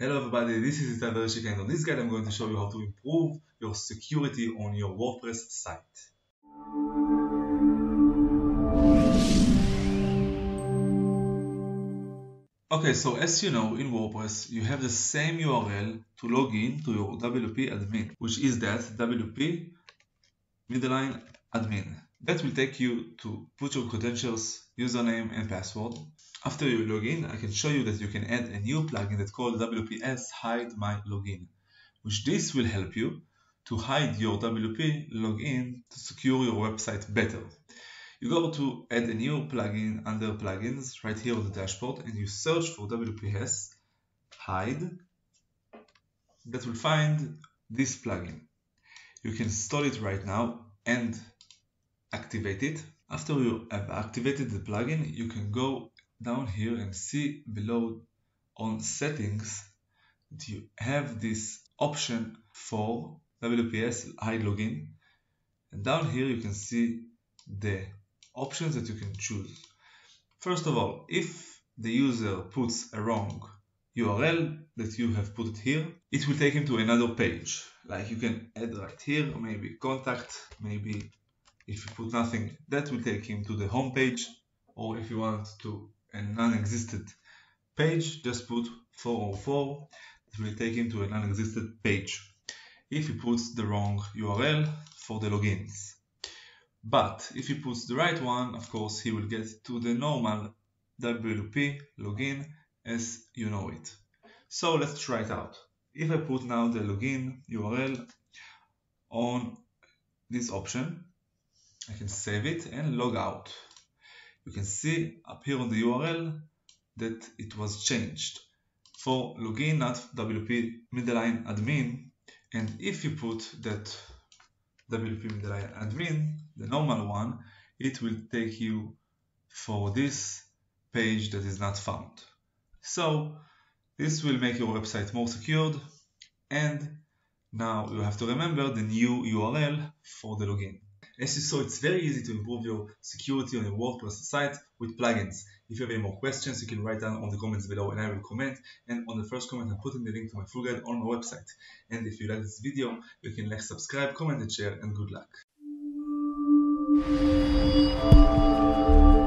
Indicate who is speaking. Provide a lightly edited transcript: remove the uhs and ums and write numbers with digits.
Speaker 1: Hello everybody, this is Itai Bereshik, and on this guide I'm going to show you how to improve your security on your WordPress site. Okay, so as you know, in WordPress you have the same URL to log in to your WP admin, which is that WP admin. That will take you to put your credentials, username and password. After you log in, I can show you that you can add a new plugin that's called WPS Hide My Login, which this will help you to hide your WP login to secure your website better. You go to add a new plugin under plugins right here on the dashboard and you search for WPS Hide. That will find this plugin. You can install it right now and activate it. After you have activated the plugin, you can go down here and see below on settings that you have this option for WPS Hide Login, and down here you can see the options that you can choose. First of all, if the user puts a wrong URL that you have put it here, it will take him to another page. Like you can add right here, or maybe contact, maybe if you put nothing, that will take him to the home page, or if you want to a non-existent page, just put 404, it will take him to a non-existent page if he puts the wrong URL for the logins. But if he puts the right one, of course he will get to the normal WP login as you know it. So let's try it out. If I put now the login URL on this option, I can save it and log out. You can see up here on the URL that it was changed for login at WP admin, and if you put that WP admin, the normal one, it will take you for this page that is not found. So this will make your website more secured, and now you have to remember the new URL for the login. As you saw, it's very easy to improve your security on your WordPress site with plugins. If you have any more questions, you can write down on the comments below and I will comment. And on the first comment, I'm putting the link to my full guide on my website. And if you like this video, you can like, subscribe, comment and share, and good luck.